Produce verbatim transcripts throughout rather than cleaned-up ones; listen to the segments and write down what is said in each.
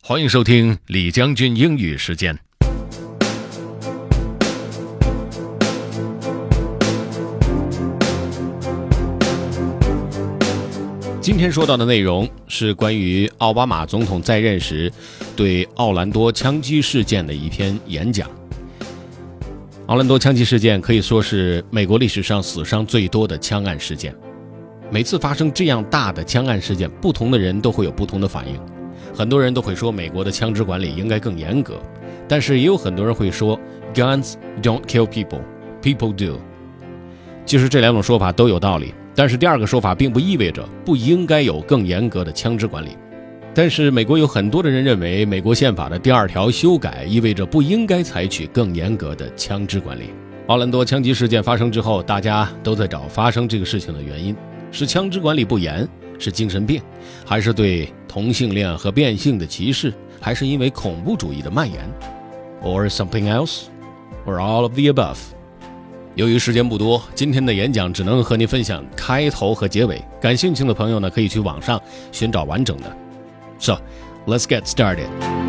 欢迎收听李将军英语时间。今天说到的内容是关于奥巴马总统在任时对奥兰多枪击事件的一篇演讲。奥兰多枪击事件可以说是美国历史上死伤最多的枪案事件。每次发生这样大的枪案事件，不同的人都会有不同的反应。很多人都会说美国的枪支管理应该更严格，但是也有很多人会说 Guns don't kill people, people do。 其实这两种说法都有道理，但是第二个说法并不意味着不应该有更严格的枪支管理。但是美国有很多的人认为美国宪法的第二条修改意味着不应该采取更严格的枪支管理。奥兰多枪击事件发生之后，大家都在找发生这个事情的原因，是枪支管理不严，是精神病，还是对同性恋和变性的歧视，还是因为恐怖主义的蔓延 or something else or all of the above。 由于时间不多，今天的演讲只能和您分享开头和结尾，感兴趣的朋友呢可以去网上寻找完整的。 So let's get started.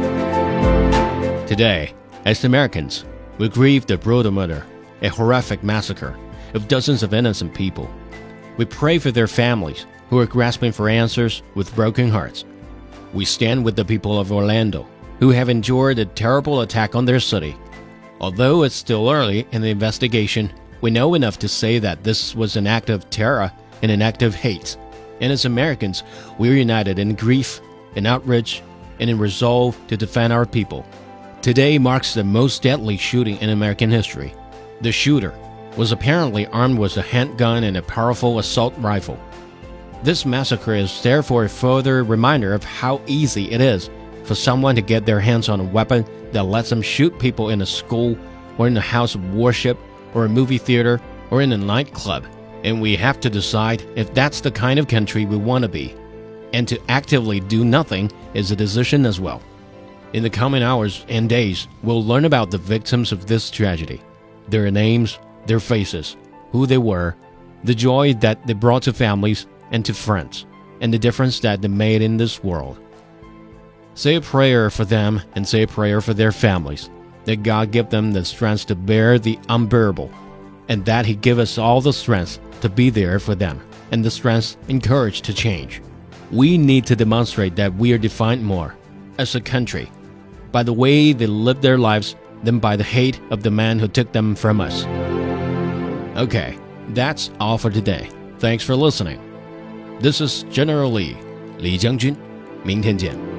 Today, as Americans, we grieve the brutal murder, a horrific massacre of dozens of innocent people. We pray for their families who are grasping for answers with broken hearts. We stand with the people of Orlando who have endured a terrible attack on their city. Although it's still early in the investigation, we know enough to say that this was an act of terror and an act of hate. And as Americans, we're united in grief, in outrage, and in resolve to defend our people. Today marks the most deadly shooting in American history. The shooter was apparently armed with a handgun and a powerful assault rifle. This massacre is therefore a further reminder of how easy it is for someone to get their hands on a weapon that lets them shoot people in a school or in a house of worship or a movie theater or in a nightclub. And we have to decide if that's the kind of country we want to be. And to actively do nothing is a decision as well. In the coming hours and days, we'll learn about the victims of this tragedy, their names, their faces, who they were, the joy that they brought to families and to friends, and the difference that they made in this world. Say a prayer for them and say a prayer for their families, that God give them the strength to bear the unbearable, and that He give us all the strength to be there for them, and the strength and courage to change. We need to demonstrate that we are defined more, as a country, by the way they live their lives than by the hate of the man who took them from us. Okay, that's all for today. Thanks for listening. This is General Lee, 李将军，明天见。